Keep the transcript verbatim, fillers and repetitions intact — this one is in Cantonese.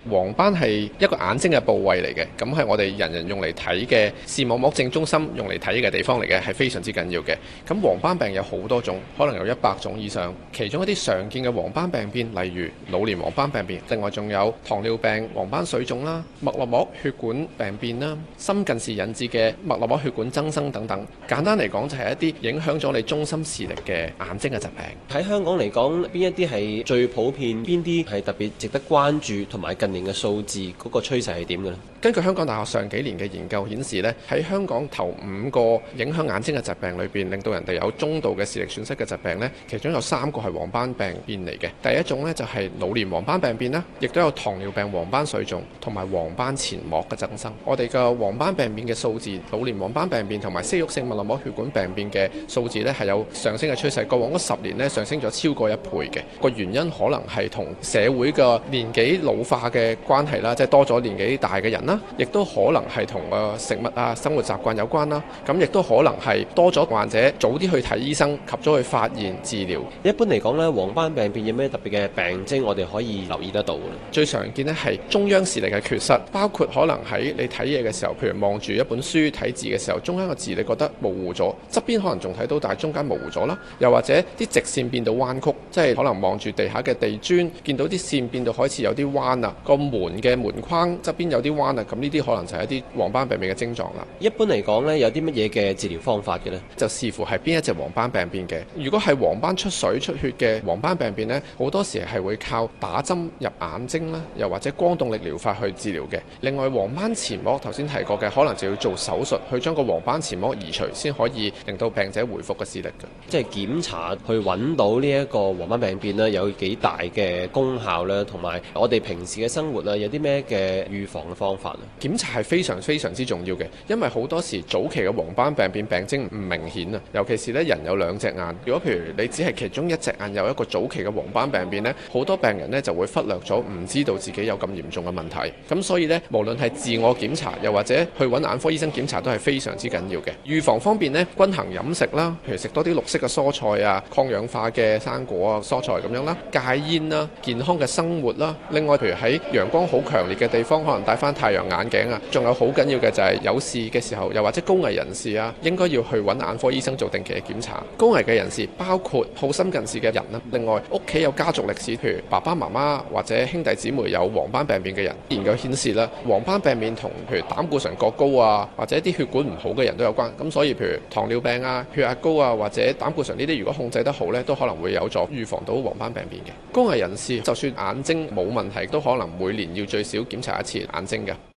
黃斑係一個眼睛嘅部位嚟嘅，咁係我哋人人用嚟睇嘅視網膜正中心用嚟睇嘅地方嚟嘅，係非常之緊要嘅。咁黃斑病有好多種，可能有一百種以上。其中一啲常見嘅黃斑病變，例如老年黃斑病變，另外仲有糖尿病黃斑水腫啦、脈絡膜血管病變啦、深近視引致嘅脈絡膜血管增生等等。簡單嚟講，就係一啲影響咗你中心視力嘅眼睛嘅疾病。 喺香港嚟講，邊一啲係最普遍，邊啲係特別值得關注，同埋近年嘅數字嗰個趨勢係點嘅呢？ 根據香港大學上幾年嘅研究顯示呢，喺香港頭五個影響眼睛嘅疾病裏邊，令到人哋有中度嘅視力損失嘅疾病呢，其中有三個係黃斑病變嚟嘅。第一種呢，就係老年黃斑病變啦，亦都有糖尿病黃斑水腫同埋黃斑前膜嘅增生。我哋嘅黃斑病變嘅數字，老年黃斑病變同埋息肉性脈絡膜血管病變嘅數字呢，係有上升嘅趨勢。過往嗰十年呢，上升咗超過一倍嘅。個原因可能係同社會嘅年紀老化嘅關係啦，即係多咗年紀大嘅人啦，亦都可能係同誒食物啊、生活習慣有關啦。咁亦都可能係多咗患者早啲去睇醫生，及早去發現治療。 一般嚟講咧，黃斑病變有咩特別嘅病徵我哋可以留意得到嘅？ 最常見咧係中央視力嘅缺失，包括可能喺你睇嘢嘅時候，譬如望住一本書睇字嘅時候，中間個字你覺得模糊咗，側邊可能仲睇到，但係中間模糊咗啦。又或者啲直線變到彎曲，即係可能望住地下嘅地磚，見到啲線變到開始有啲彎啦。個門嘅門框側邊有啲彎啦，咁呢啲可能就係一啲黃斑病變嘅症狀啦。 一般嚟講咧，有啲乜嘢嘅治療方法嘅呢？ 就視乎係邊一隻黃斑病變嘅。如果係黃斑出水出血嘅黃斑病變呢，好多時係會靠打針入眼睛啦，又或者光動力療法去治療嘅。另外，黃斑前膜頭先提過嘅，可能就要做手術去將個黃斑前膜移除，先可以令到病者回復個視力嘅。 即係檢查去揾到呢一個黃斑病變咧，有幾大嘅功效咧，同埋我哋平時嘅生活啊，有啲咩嘅預防嘅方法咧？ 檢查係非常非常之重要嘅，因為好多時早期嘅黃斑病變病徵唔明顯啊，尤其是咧人有兩隻眼，如果譬如你只係其中一隻眼有一個早期嘅黃斑病變呢，好多病人呢就會忽略咗，唔知道自己有咁嚴重嘅問題。咁所以呢，無論係自我檢查，又或者去揾眼科醫生檢查，都係非常之緊要嘅。預防方面呢，均衡飲食啦，譬如食多啲綠色嘅蔬菜啊，抗氧化嘅生果啊、蔬菜咁樣啦，戒煙啦，健康嘅生活啦。另外，譬如喺陽光好強烈嘅地方，可能戴翻太陽眼鏡啊。仲有好緊要嘅就係有事嘅時候，又或者高危人士啊，應該要去揾眼科醫生做定期嘅檢查。高危嘅人士包括好深近視嘅人啦，另外屋企有家族歷史，譬如爸爸媽媽或者兄弟姊妹有黃斑病變嘅人，研究顯示啦，黃斑病變同譬如膽固醇過高啊，或者啲血管唔好嘅人都有關。咁所以譬如糖尿病啊、血壓高啊，或者膽固醇呢啲，如果控制得好呢，都可能會有助預防到黃斑病變嘅。高危人士就算眼睛冇問題，都可能每年要最少檢查一次眼睛嘅。